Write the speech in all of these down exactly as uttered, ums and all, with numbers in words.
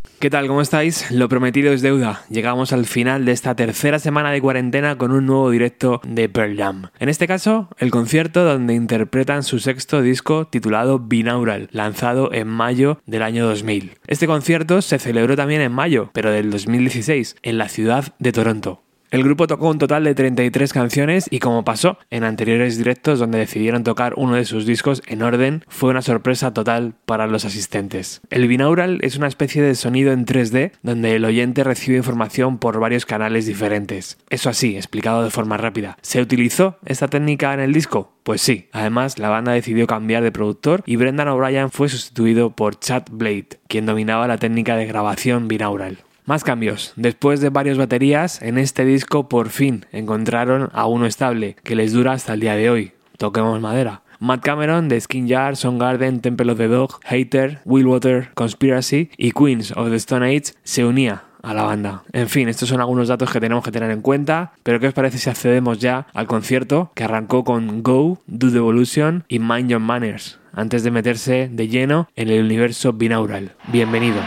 ¿Qué tal? ¿Cómo estáis? Lo prometido es deuda. Llegamos al final de esta tercera semana de cuarentena con un nuevo directo de Pearl Jam. En este caso, el concierto donde interpretan su sexto disco titulado Binaural, lanzado en mayo del año dos mil. Este concierto se celebró también en mayo, pero del dos mil dieciséis, en la ciudad de Toronto. El grupo tocó un total de treinta y tres canciones y, como pasó en anteriores directos donde decidieron tocar uno de sus discos en orden, fue una sorpresa total para los asistentes. El binaural es una especie de sonido en tres D donde el oyente recibe información por varios canales diferentes. Eso así, explicado de forma rápida. ¿Se utilizó esta técnica en el disco? Pues sí. Además, la banda decidió cambiar de productor y Brendan O'Brien fue sustituido por Chad Blade, quien dominaba la técnica de grabación binaural. Más cambios. Después de varias baterías, en este disco por fin encontraron a uno estable, que les dura hasta el día de hoy. Toquemos madera. Matt Cameron de Skin Jar, Soundgarden, Temple of the Dog, Hater, Willwater, Conspiracy y Queens of the Stone Age se unía a la banda. En fin, estos son algunos datos que tenemos que tener en cuenta, pero ¿qué os parece si accedemos ya al concierto que arrancó con Go, Do the Evolution y Mind Your Manners, antes de meterse de lleno en el universo binaural? Bienvenidos.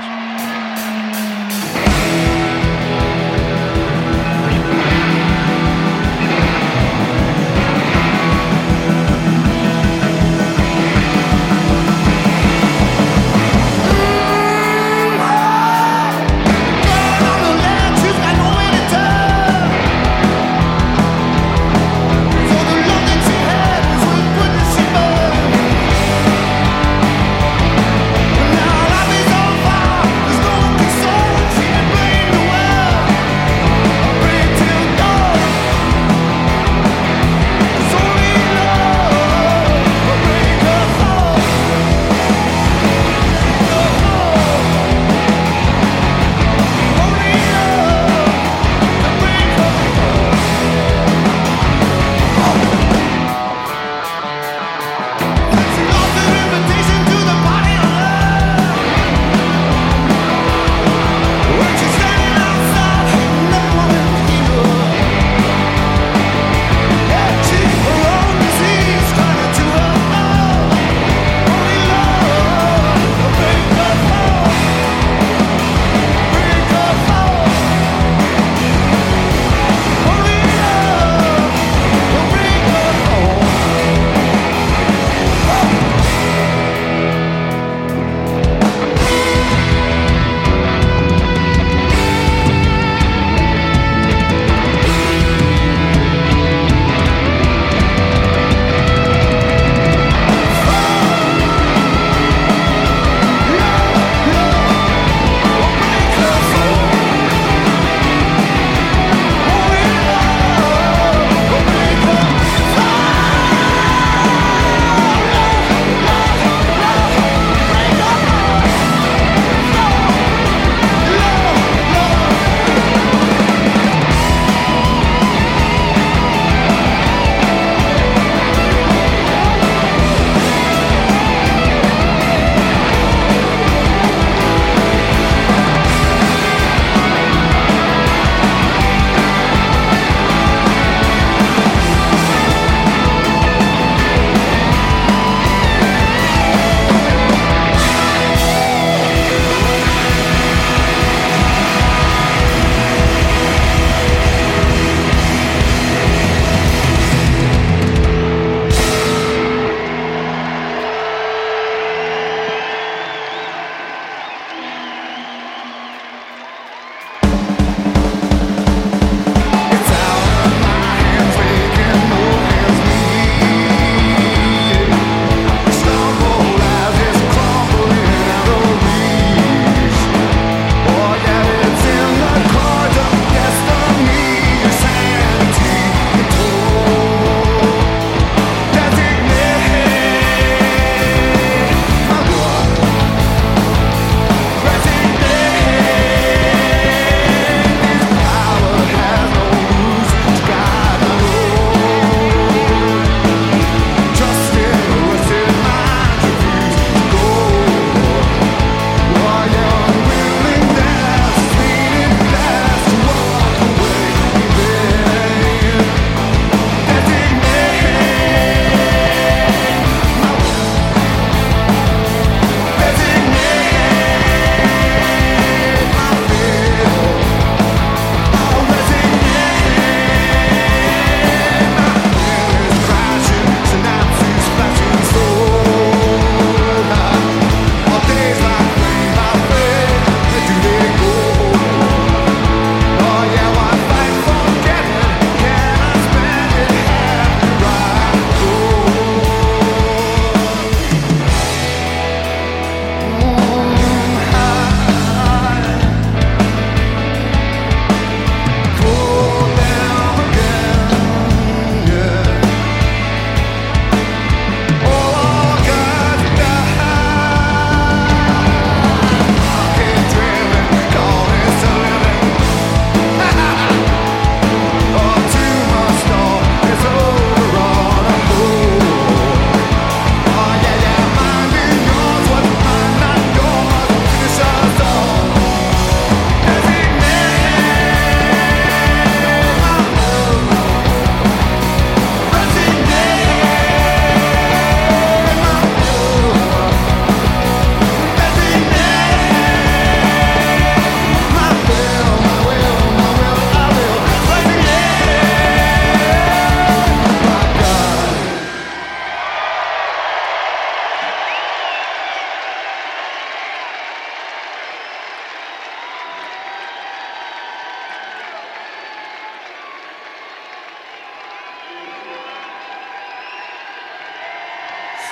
Now life is on fire.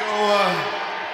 So, uh,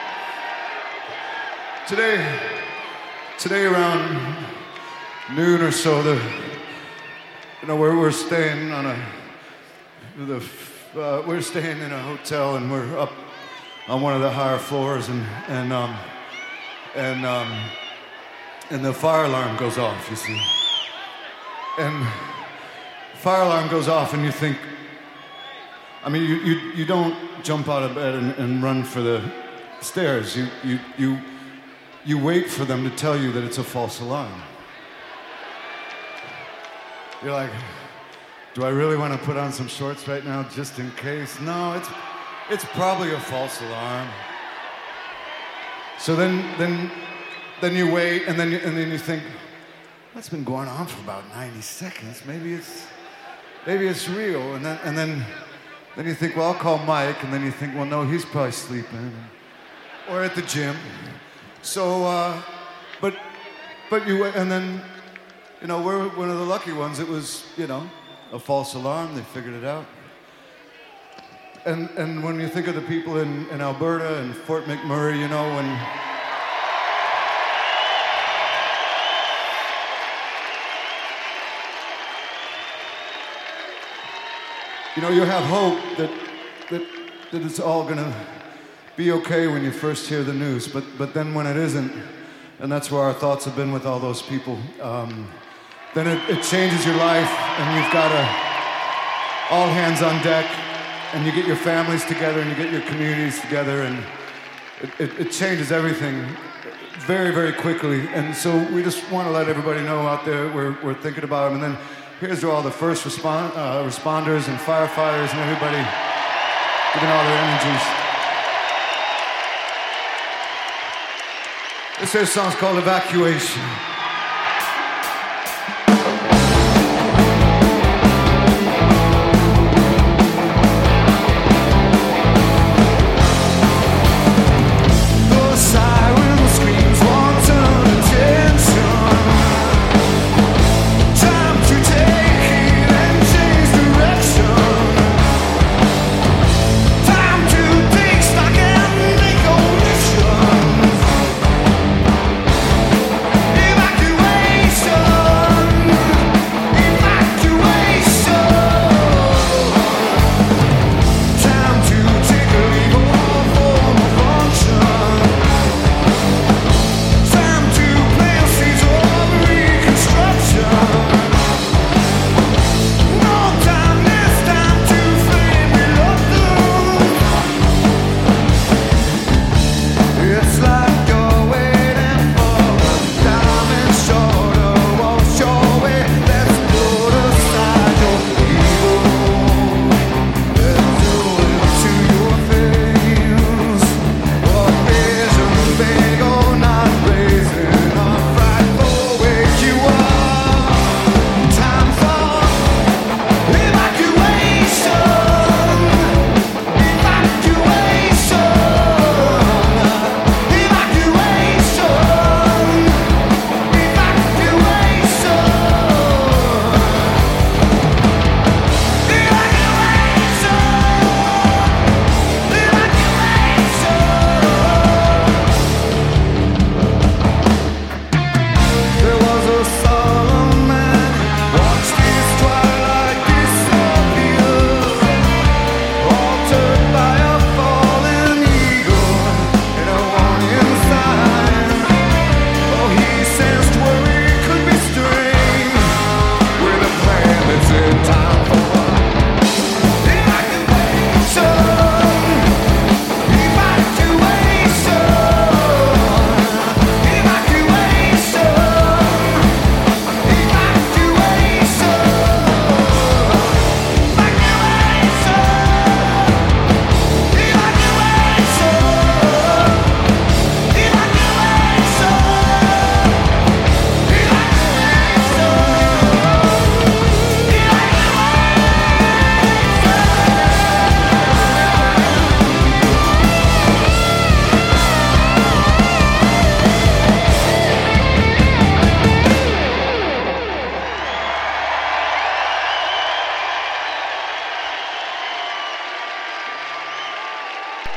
today, today around noon or so, the, you know, we're, we're staying on a, the, uh, we're staying in a hotel and we're up on one of the higher floors and, and, um, and, um, and the fire alarm goes off, you see. And fire alarm goes off and you think, I mean, you, you, you don't jump out of bed and, and run for the stairs. You, you, you, you wait for them to tell you that it's a false alarm. You're like, do I really want to put on some shorts right now just in case? No, it's, it's probably a false alarm. So then, then, then you wait and then you, and then you think, that's been going on for about ninety seconds. Maybe it's, maybe it's real. And then, and then, then you think, well, I'll call Mike. And then you think, well, no, he's probably sleeping or at the gym. So, uh, but, but you, and then, you know, we're one of the lucky ones. It was, you know, a false alarm. They figured it out. And and when you think of the people in, in Alberta and Fort McMurray, you know, when you know, you have hope that that that it's all gonna be okay when you first hear the news, but but then when it isn't, and that's where our thoughts have been with all those people, um, then it, it changes your life, and you've got a all hands on deck, and you get your families together, and you get your communities together, and it, it, it changes everything very, very quickly. And so we just want to let everybody know out there we're we're thinking about them. And then here's to all the first respond, uh, responders and firefighters and everybody giving all their energies. This here song's called Evacuation. If I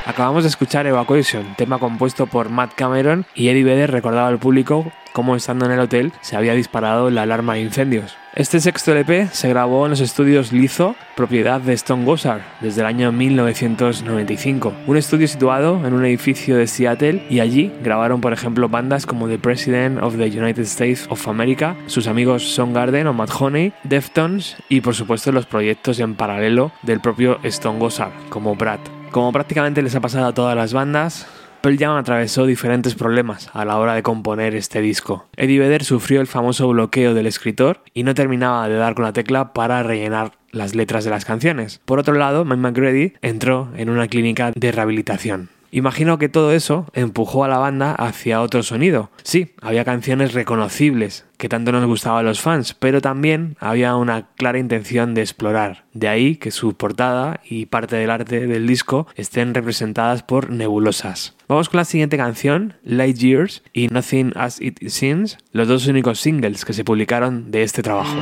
Acabamos de escuchar Evacuation, tema compuesto por Matt Cameron, y Eddie Vedder recordaba al público cómo estando en el hotel se había disparado la alarma de incendios. Este sexto L P se grabó en los estudios Litho, propiedad de Stone Gossard, desde el año mil novecientos noventa y cinco, un estudio situado en un edificio de Seattle, y allí grabaron por ejemplo bandas como The President of the United States of America, sus amigos Soundgarden o Mudhoney, Deftones y por supuesto los proyectos en paralelo del propio Stone Gossard, como Brad. Como prácticamente les ha pasado a todas las bandas, Pearl Jam atravesó diferentes problemas a la hora de componer este disco. Eddie Vedder sufrió el famoso bloqueo del escritor y no terminaba de dar con la tecla para rellenar las letras de las canciones. Por otro lado, Mike McCready entró en una clínica de rehabilitación. Imagino que todo eso empujó a la banda hacia otro sonido. Sí, había canciones reconocibles que tanto nos gustaban a los fans, pero también había una clara intención de explorar. De ahí que su portada y parte del arte del disco estén representadas por nebulosas. Vamos con la siguiente canción, Light Years y Nothing As It Seems, los dos únicos singles que se publicaron de este trabajo.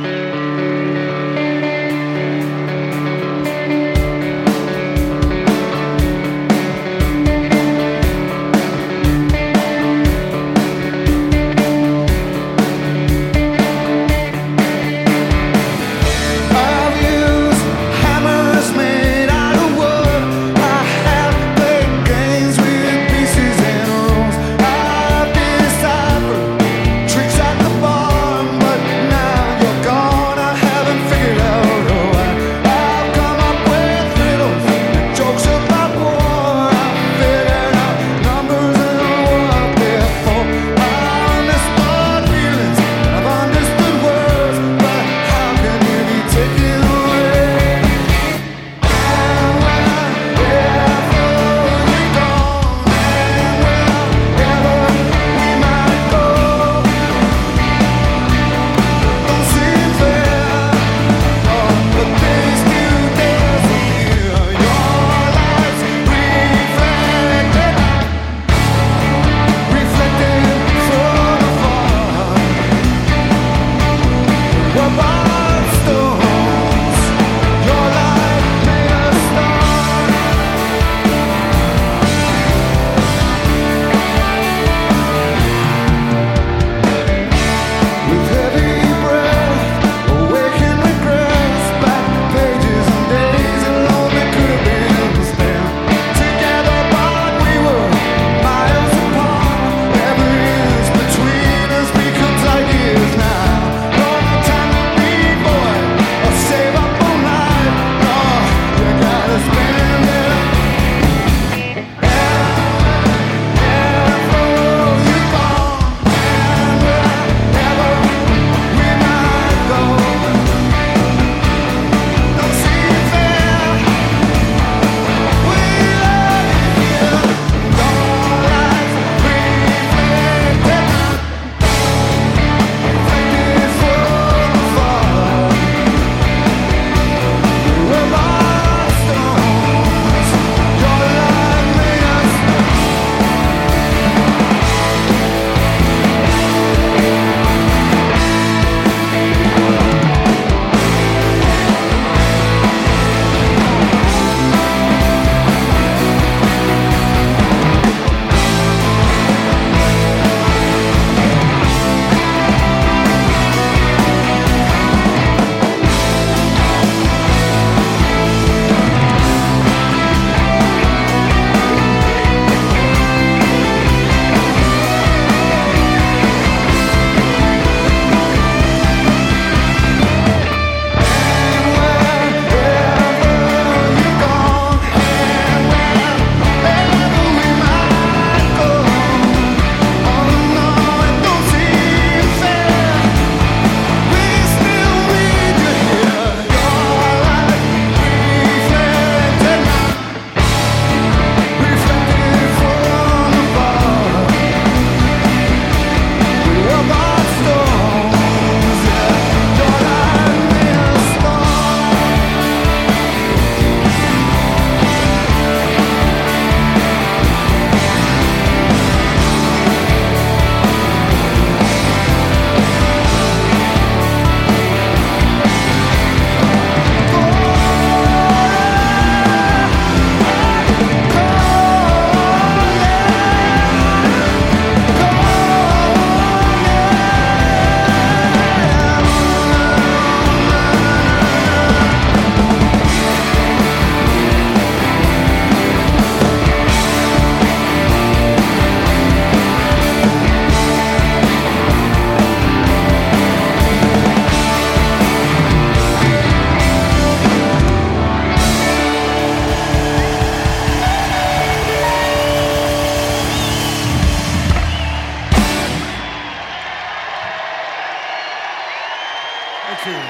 Tricks at the bar, but now you're gonna have Thank you.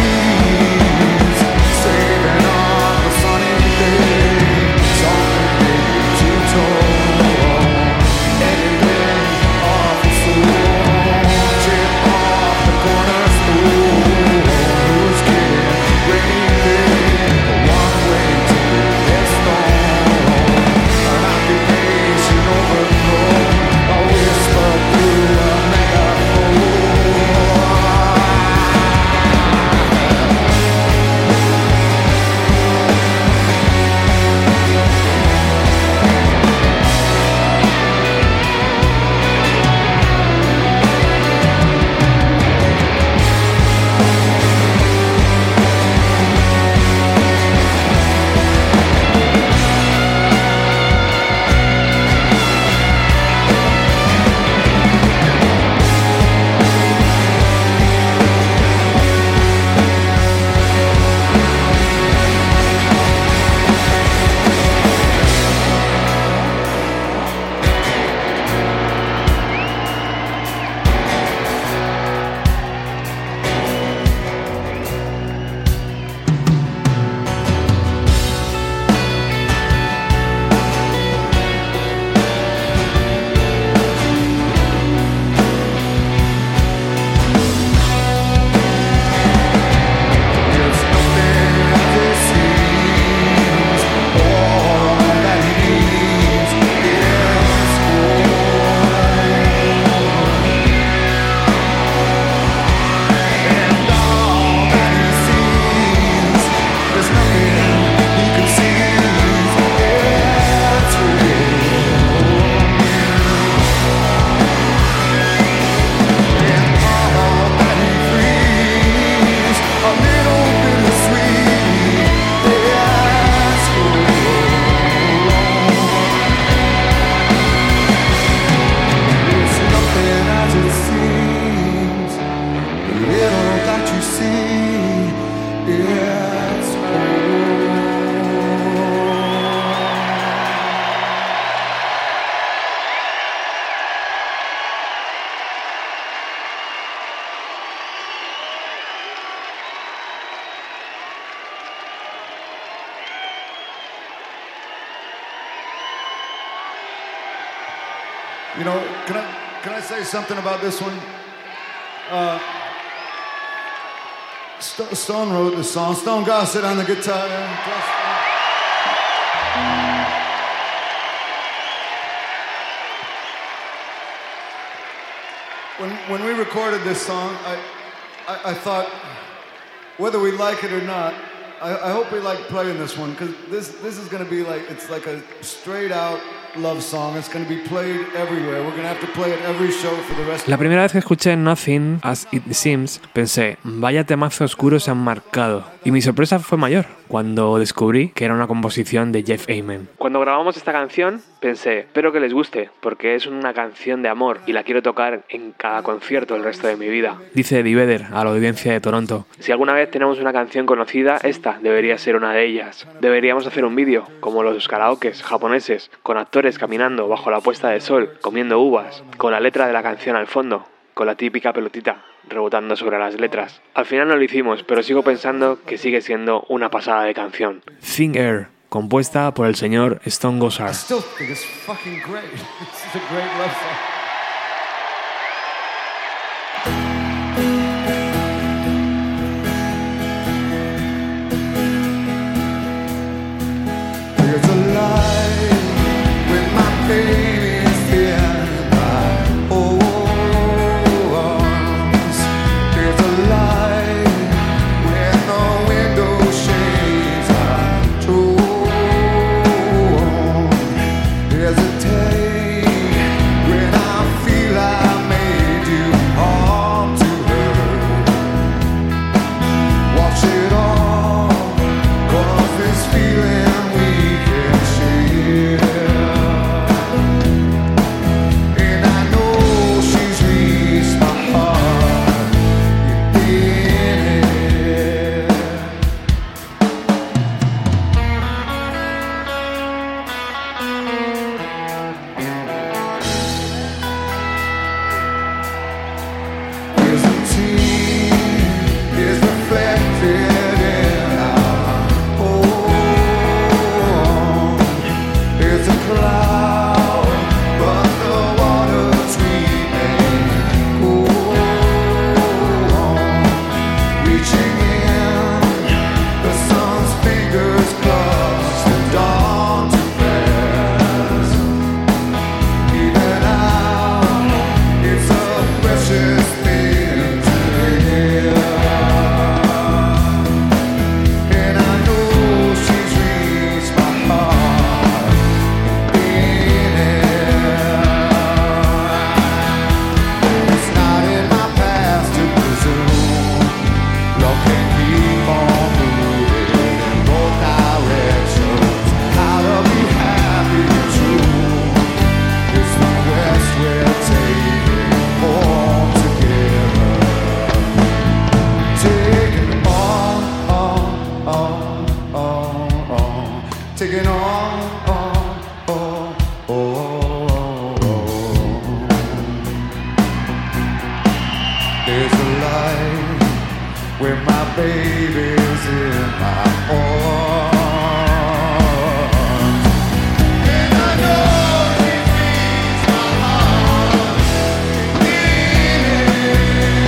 Saving on the sunny day, something You know, can I can I say something about this one? Uh, St- Stone wrote this song. Stone Gossett on the guitar. When when we recorded this song, I I, I thought, whether we like it or not, I, I hope we like playing this one, because this this is going to be like, it's like a straight out love song. It's going to be played everywhere. We're going to have to play it every show for the rest. La primera vez que escuché Nothing As It Seems, pensé, vaya temazo oscuro se han marcado. Y mi sorpresa fue mayor cuando descubrí que era una composición de Jeff Ament. Cuando grabamos esta canción, pensé, espero que les guste, porque es una canción de amor y la quiero tocar en cada concierto el resto de mi vida. Dice Eddie Vedder a la audiencia de Toronto. Si alguna vez tenemos una canción conocida, esta debería ser una de ellas. Deberíamos hacer un vídeo, como los karaokes japoneses, con actores caminando bajo la puesta de sol, comiendo uvas, con la letra de la canción al fondo, con la típica pelotita rebotando sobre las letras. Al final no lo hicimos, pero sigo pensando que sigue siendo una pasada de canción. Thin Air, compuesta por el señor Stone Gossard. I still think it's fucking great. It's a great love song. There's a light when my baby's in my arms. There's a light when the window shades are torn. There's a day when I feel I made you harm to her. Watch it all, 'cause this feeling we can share. And I know she's reached my heart in it. There's a tear is reflected in our home. There's a cloud, but the water's remain cool. Reaching in, the sun's fingers clutch the dawn to rest. Even out, it's a precious thing to hear. And I know she's reached my heart in it. It's not in my past to presume love can keep on moving in both directions. How to be happy and true. It's the quest we're taking home together. Taking on, on, on, on, on. Taking on, on, on, on, on. There's a light when my baby's in my arms. And I know she feeds my heart in it.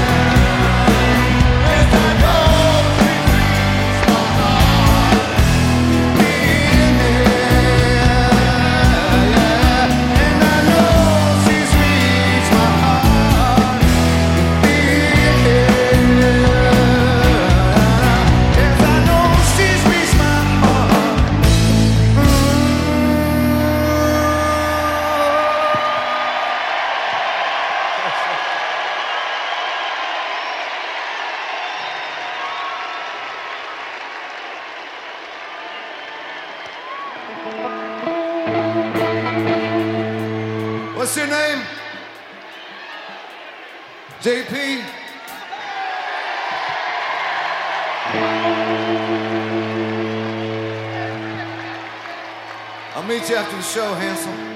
Yes, I know she feeds my heart in it. And I know she's reached my heart in it. Yes, I know she's reached my heart. What's your name? J P? I'll meet you after the show, handsome.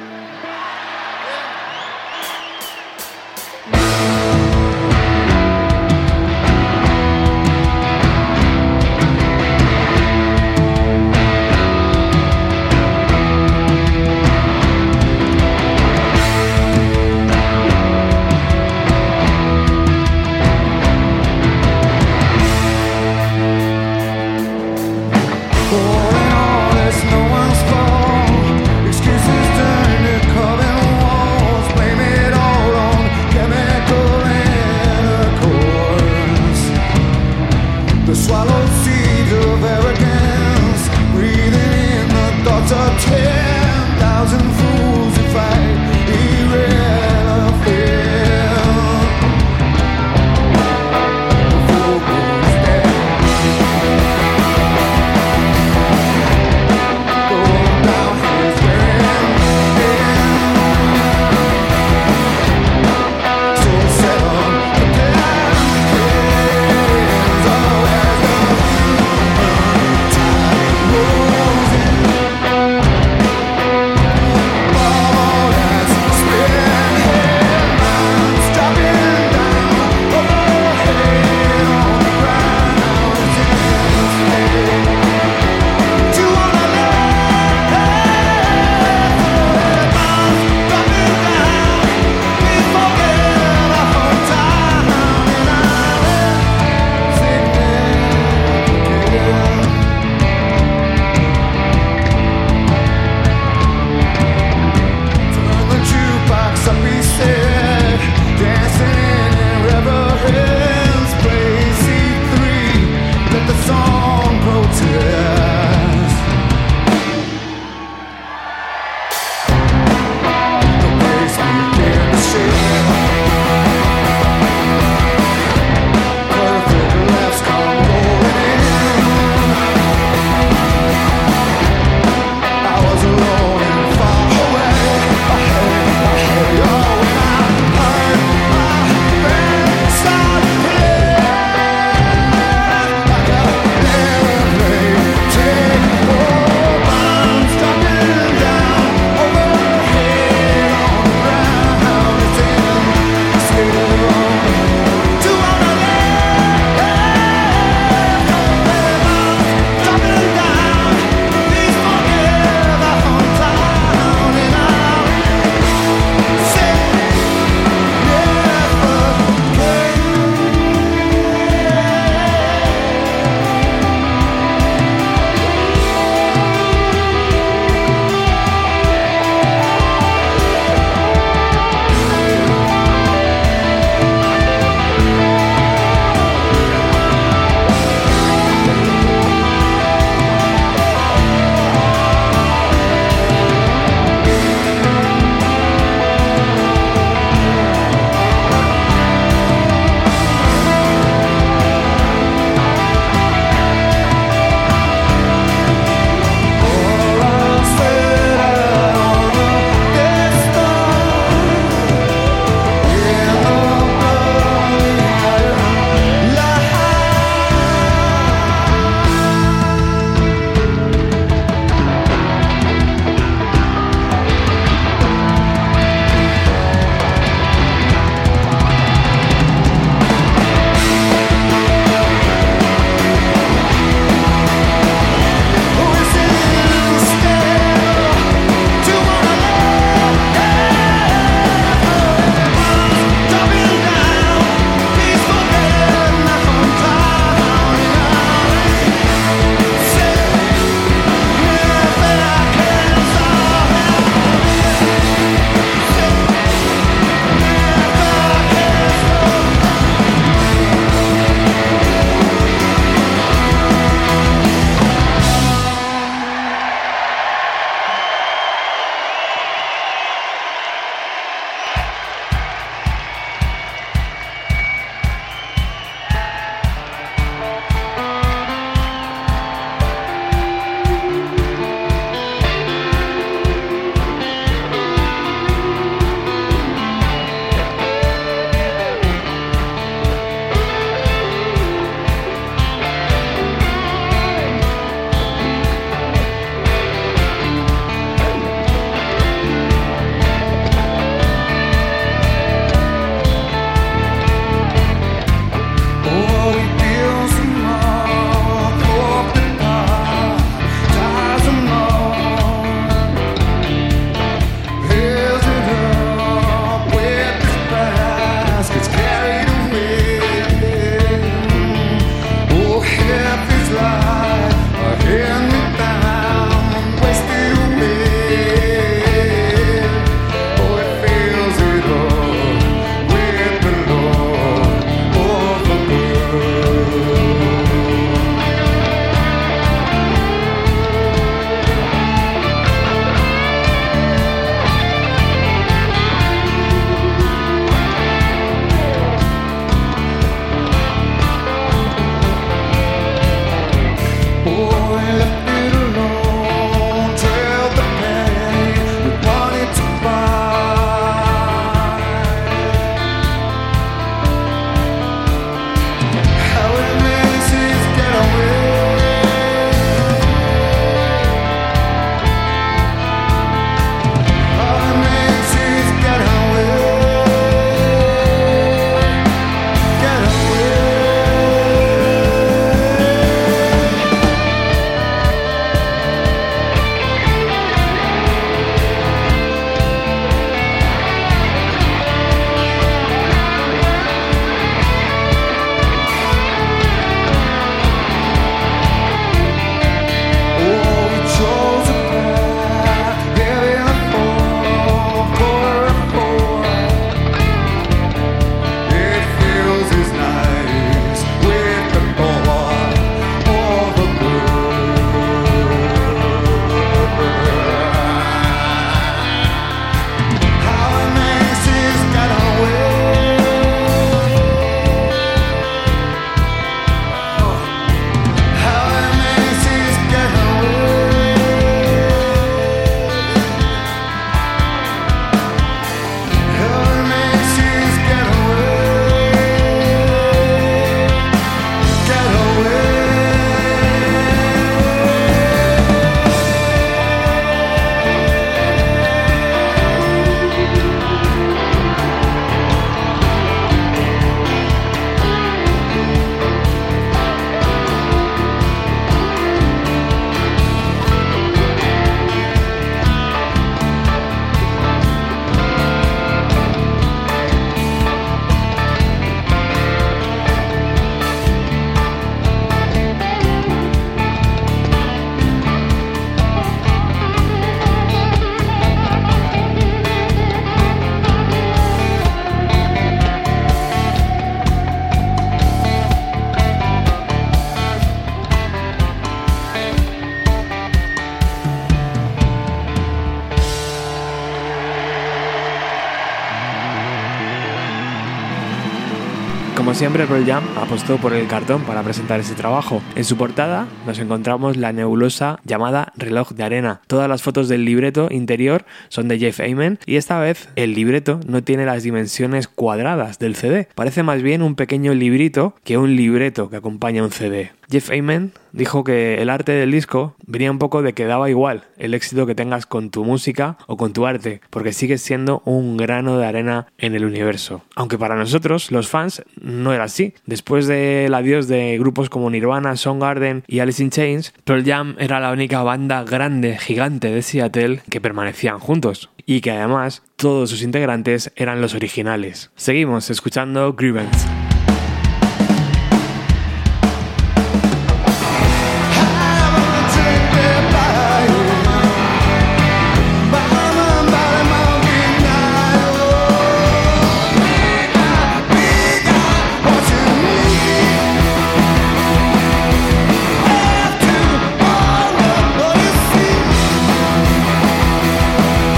Como siempre, Pearl Jam apostó por el cartón para presentar ese trabajo. En su portada nos encontramos la nebulosa llamada Reloj de Arena. Todas las fotos del libreto interior son de Jeff Ament y esta vez el libreto no tiene las dimensiones cuadradas del C D. Parece más bien un pequeño librito que un libreto que acompaña un C D. Jeff Ament dijo que el arte del disco venía un poco de que daba igual el éxito que tengas con tu música o con tu arte, porque sigues siendo un grano de arena en el universo. Aunque para nosotros, los fans, no era así. Después del adiós de grupos como Nirvana, Soundgarden y Alice in Chains, Pearl Jam era la única banda grande, gigante de Seattle que permanecían juntos y que además todos sus integrantes eran los originales. Seguimos escuchando Grievance.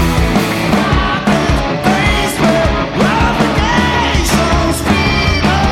Obligations, freedom.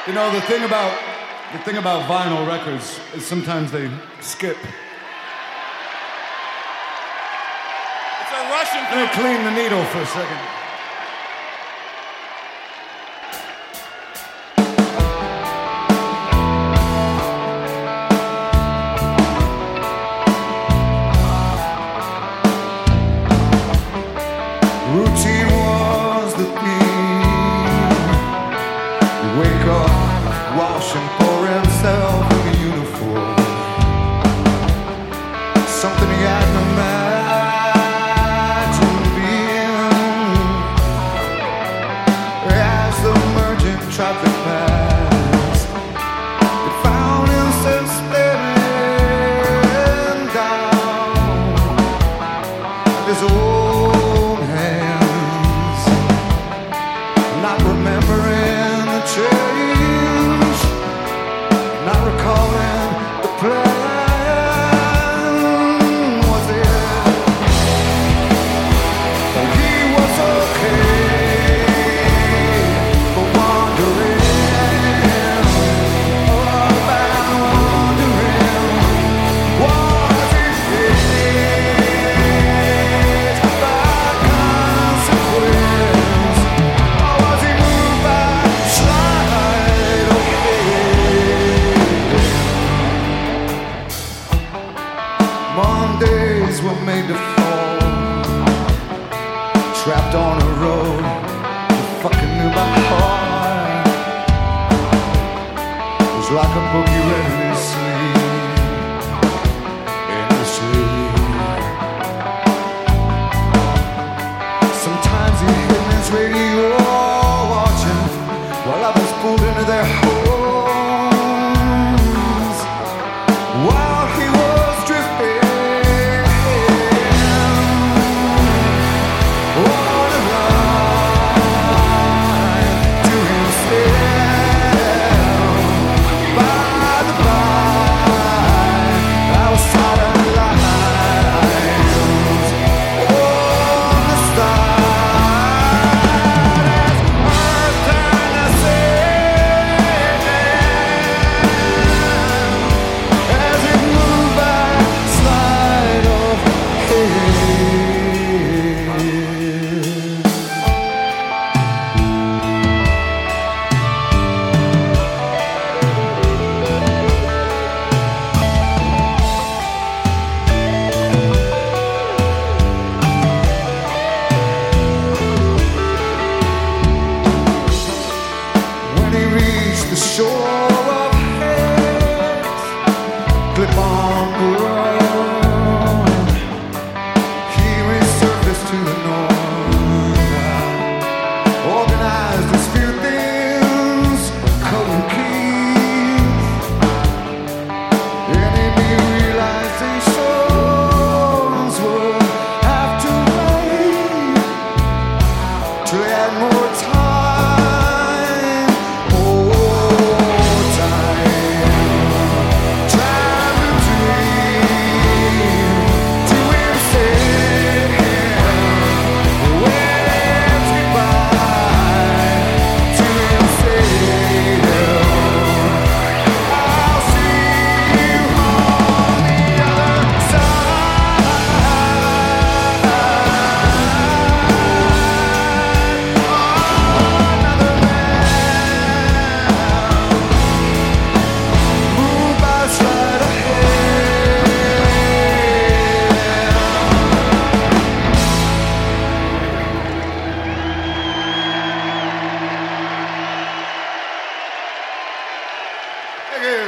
You know, the thing about the thing about vinyl records is sometimes they skip. It's a Russian Let me clean the needle for a second. Routine was the theme. You wake up, wash and pour himself in the uniform. Something he hadn't imagined being. As the merging traffic passed, he found himself staring down at this old remembering the change, not recalling the plan. Was it? He was okay for wandering, up and wandering. Was he faced by consequence? Or was he moved by sleight of hand? Mondays were made to fall, trapped on a road you fucking knew by heart. It was like a book you read in his sleep, in his sleep. Sometimes he hid in his radio, watching while others pulled into their homes, while he was drifting on a line to himself. By the by, outside of the lines on the stars, earth turned to sand as it moved by sleight of hand. When he reached the shore of Heads, clip on the road, he resurfaced to the north, organized his few things, code keys, and he realizations would have to wait till he had more time. More time. Time to dream to himself. Waves goodbye to himself. I'll see you on the other side. Another man moved by sleight of hand. Thank you.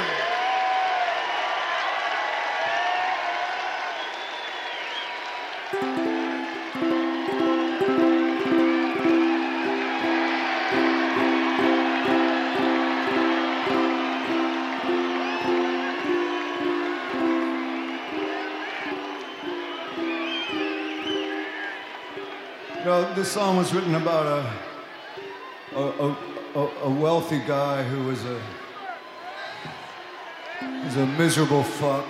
You know, this song was written about a a, a, a, a wealthy guy who was a was a miserable fuck,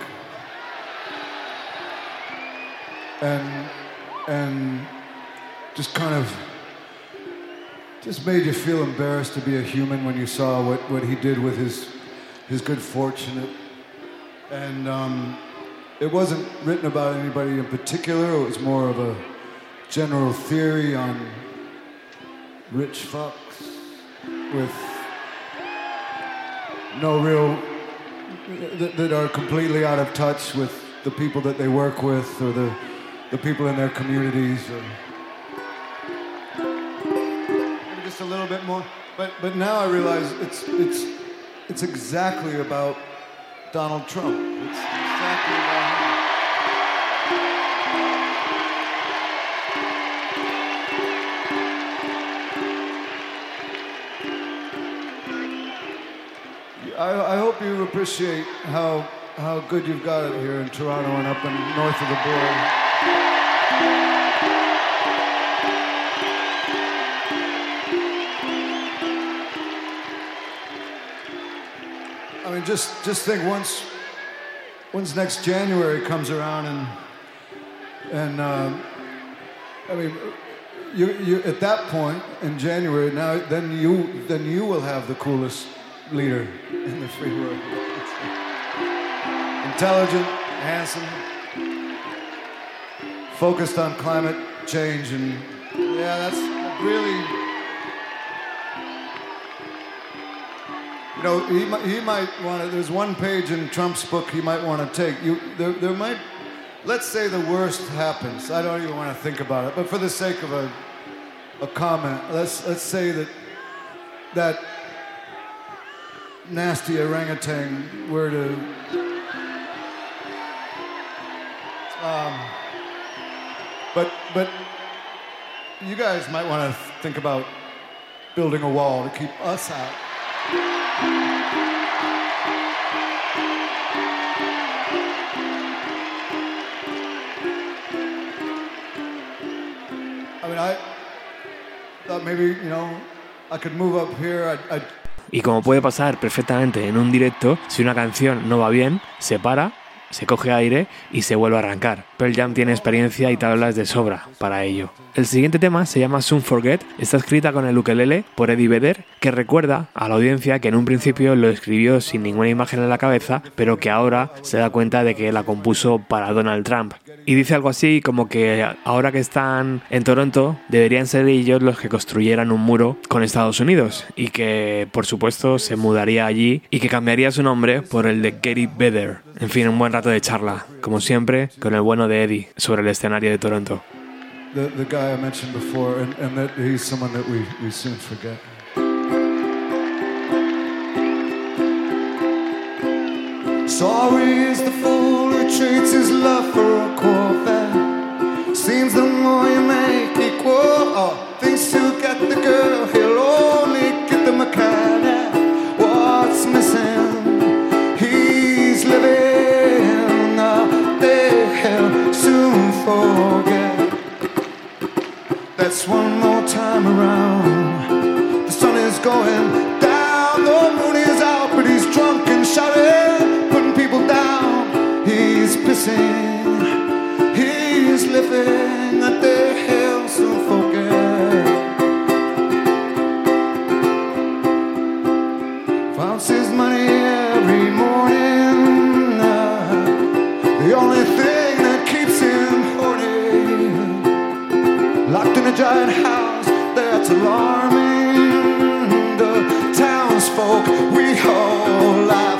and and just kind of just made you feel embarrassed to be a human when you saw what, what he did with his his good fortune. And um, it wasn't written about anybody in particular. It was more of a general theory on rich fucks with no real, that, that are completely out of touch with the people that they work with or the, the people in their communities. Or maybe just a little bit more. But but now I realize it's it's it's exactly about Donald Trump. It's exactly about him. I, I hope you appreciate how how good you've got it here in Toronto and up and north of the border. I mean, just just think once once next January comes around and and uh, I mean, you you at that point in January now then you then you will have the coolest leader in the free world. Intelligent, handsome, focused on climate change, and yeah, that's really, you know, he might, he might want to, there's one page in Trump's book he might want to take. You, there, there might, let's say the worst happens. I don't even want to think about it, but for the sake of a, a comment, let's, let's say that, that nasty orangutan were to um, but but you guys might want to think about building a wall to keep us out. I mean, I thought maybe, you know, I could move up here. I'd, I'd Y como puede pasar perfectamente en un directo, si una canción no va bien, se para, se coge aire y se vuelve a arrancar. Pearl Jam tiene experiencia y tablas de sobra para ello. El siguiente tema se llama Soon Forget, está escrita con el ukelele por Eddie Vedder, que recuerda a la audiencia que en un principio lo escribió sin ninguna imagen en la cabeza, pero que ahora se da cuenta de que la compuso para Donald Trump. Y dice algo así como que ahora que están en Toronto deberían ser ellos los que construyeran un muro con Estados Unidos y que por supuesto se mudaría allí y que cambiaría su nombre por el de Gary Vedder. En fin, un buen rato de charla, como siempre, con el bueno de Eddie sobre el escenario de Toronto. The, the guy I mentioned before, and, and that he's someone that we, we soon forget. Sorry is the fool who treats his love for a Corvette. Seems the more you make equal, oh, thinks he'll get the girl, he'll only get the mechanic. What's missing? He's living the day he'll soon forget. That's one more time around. The sun is going down, the moon is out, but he's drunk and shouting, putting people down. He's pissing, he's living at the hills of forget. Finds his money every morning, uh, the only thing that keeps him horny. Locked in a giant house that's alarming the townsfolk, we all laugh.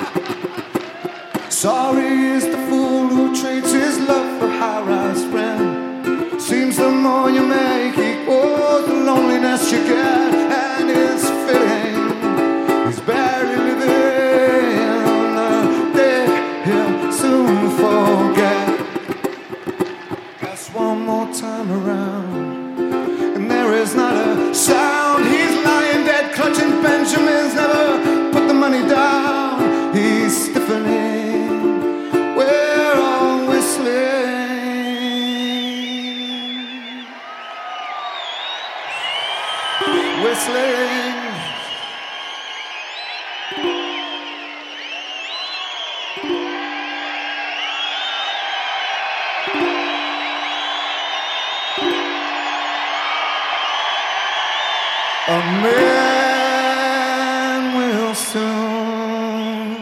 Sorry is the fool who trades his love for high-rise rent. Seems the more you make equals the loneliness you get, and it's fitting he's barely living the day he'll soon forget. That's one more time around, and there is not a sound. He's lying dead, clutching Benjamins, never put the money down. He's stiffening, we're all whistling, whistling. A man will soon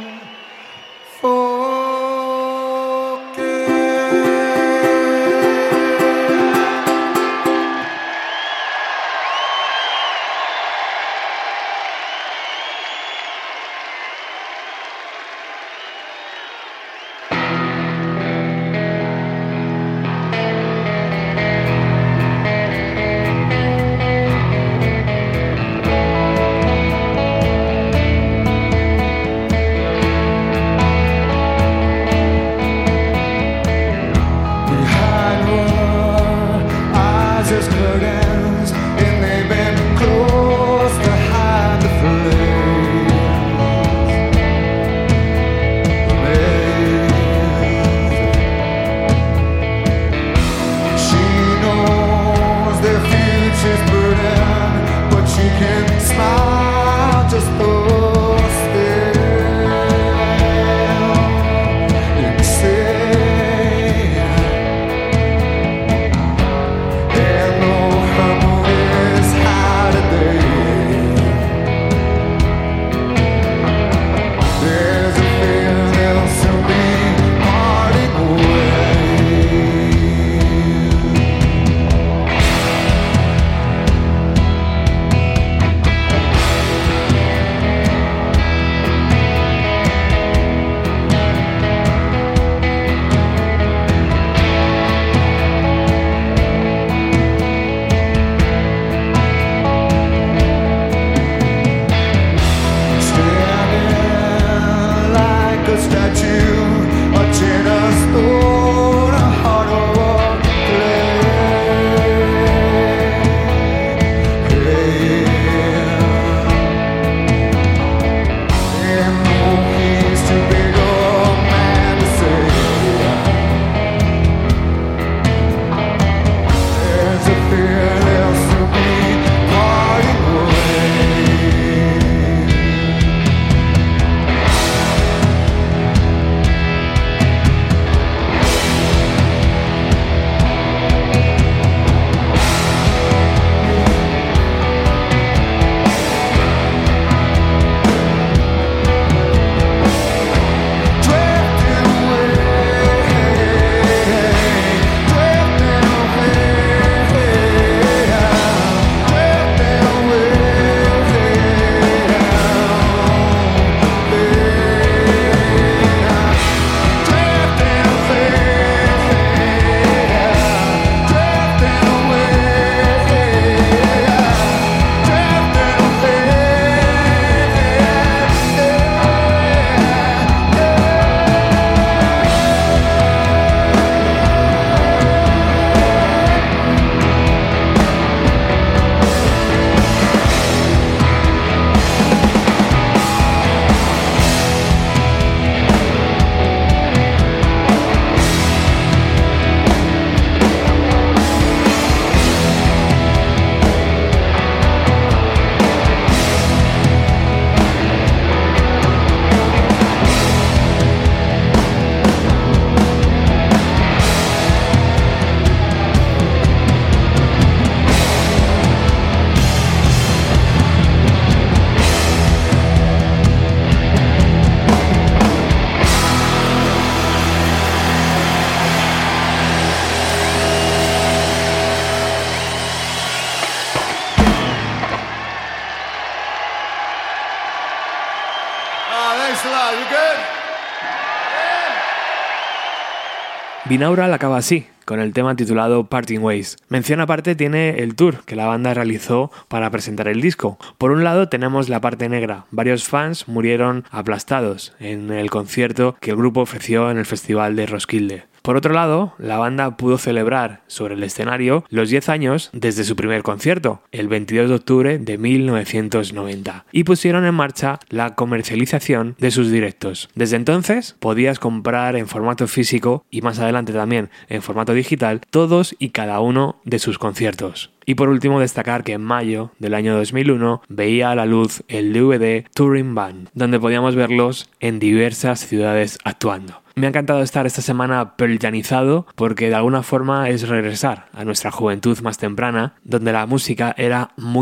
Binaural acaba así, con el tema titulado Parting Ways. Mención aparte tiene el tour que la banda realizó para presentar el disco. Por un lado tenemos la parte negra. Varios fans murieron aplastados en el concierto que el grupo ofreció en el Festival de Roskilde. Por otro lado, la banda pudo celebrar sobre el escenario los diez años desde su primer concierto, el veintidós de octubre de mil novecientos noventa, y pusieron en marcha la comercialización de sus directos. Desde entonces podías comprar en formato físico y más adelante también en formato digital todos y cada uno de sus conciertos. Y por último destacar que en mayo del año dos mil uno veía a la luz el D V D Touring Band, donde podíamos verlos en diversas ciudades actuando. Me ha encantado estar esta semana pearljanizado porque de alguna forma es regresar a nuestra juventud más temprana, donde la música era muy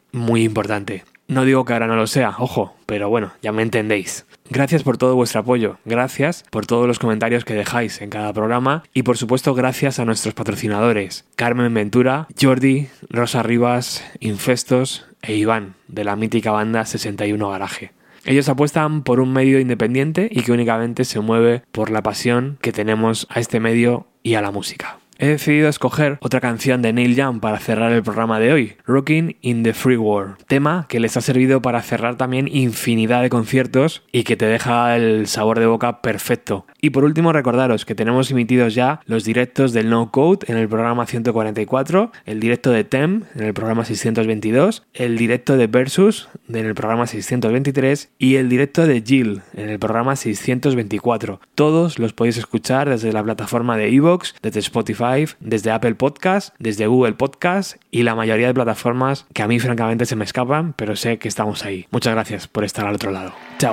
muy importante. No digo que ahora no lo sea, ojo, pero bueno, ya me entendéis. Gracias por todo vuestro apoyo, gracias por todos los comentarios que dejáis en cada programa y por supuesto gracias a nuestros patrocinadores, Carmen Ventura, Jordi, Rosa Rivas, Infestos e Iván, de la mítica banda sesenta y uno Garaje. Ellos apuestan por un medio independiente y que únicamente se mueve por la pasión que tenemos a este medio y a la música. He decidido escoger otra canción de Neil Young para cerrar el programa de hoy, Rockin' in the Free World, tema que les ha servido para cerrar también infinidad de conciertos y que te deja el sabor de boca perfecto. Y por último recordaros que tenemos emitidos ya los directos del No Code en el programa ciento cuarenta y cuatro, el directo de Tem en el programa seiscientos veintidós, el directo de Versus en el programa seiscientos veintitrés y el directo de Jill en el programa seiscientos veinticuatro. Todos los podéis escuchar desde la plataforma de iVoox, desde Spotify, desde Apple Podcast, desde Google Podcast y la mayoría de plataformas que a mí francamente se me escapan, pero sé que estamos ahí. Muchas gracias por estar al otro lado. Chao.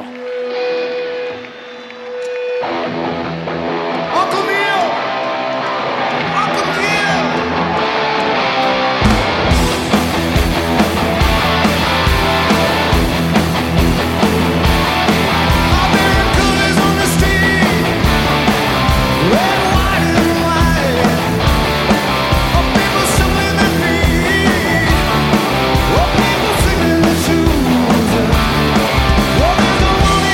Well, there's no one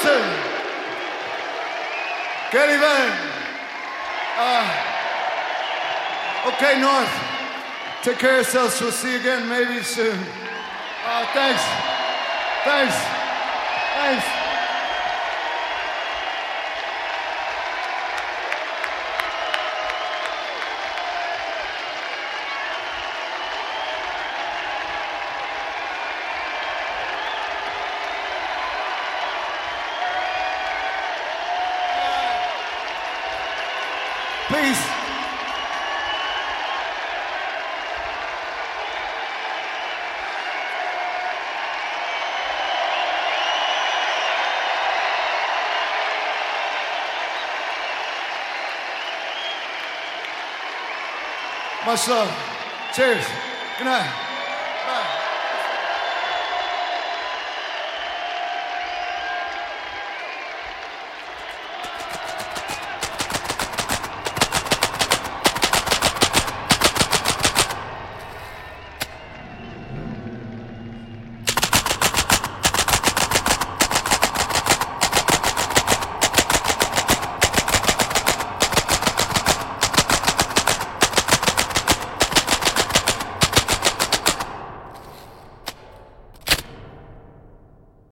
Listen. Get even. Uh, okay, North. Take care of yourselves. We'll see you again maybe soon. Uh, thanks. Thanks. Thanks. Please. Much love. Cheers. Good night.